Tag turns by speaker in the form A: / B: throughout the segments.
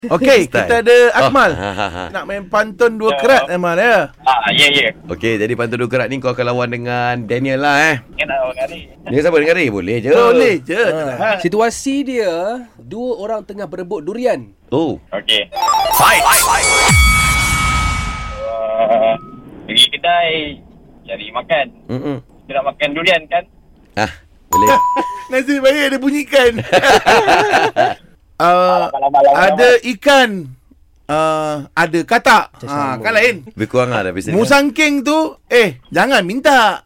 A: Okey, kita ada Akmal.
B: Ha.
A: Nak main pantun dua kerat Akmal ya.
C: Ya.
B: Okey, jadi pantun dua kerat ni kau akan lawan dengan Daniel lah
C: Kan nak orang ni.
B: Dia siapa dengan Ray? Boleh je.
A: Boleh je.
D: Situasi dia, dua orang tengah berebut durian.
B: Oh.
C: Okey.
B: Fight.
C: Pergi kedai cari makan. Kita nak makan durian kan?
B: Boleh.
A: Nasib baik dia bunyikan.
C: Lama-lama.
A: Ada ikan. Ada katak. Kan lain.
B: Lebih kurang lah dah biasa.
A: Musangking tu, jangan minta.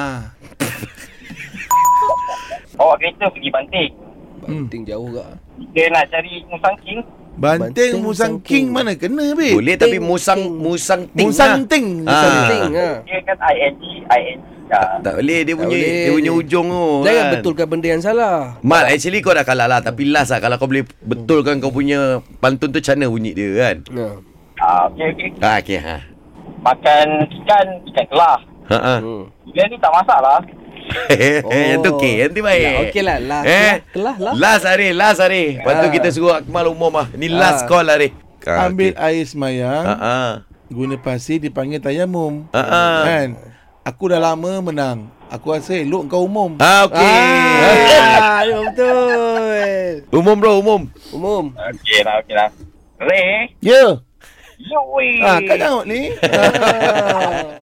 C: Bawa kereta pergi Banting.
D: Banting jauh ke?
C: Kita nak cari musangking.
A: Banting musangking mana kena be?
B: Boleh tapi musang ting.
A: Musangting.
D: Banting
C: Dia kan ING.
B: Tak boleh dia punya ujung tu.
D: Jangan
B: kan?
D: betulkan benda yang salah.
B: Mal, actually kau dah kalah lah. Tapi last lah, kalau kau boleh betulkan kau punya pantun tu, macam mana bunyi dia kan?
C: Okey.
B: Okey.
C: Makan ikan kelah. Dia ni tak masak lah.
B: Yang tu okey, yang tu baik.
D: Okey lah. Kelah.
B: Last hari. Lepas tu kita suruh Akmal umum lah. Ni last call hari.
A: Ambil air semayang.
B: Guna
A: Guna pasir dipanggil tayamum. Kan? Aku dah lama menang. Aku rasa elok kau umum.
B: Okey.
D: Ya betul.
B: Umum bro, umum.
C: Okey lah. Ray.
A: Ya.
C: Yoi.
A: Kau tengok ni.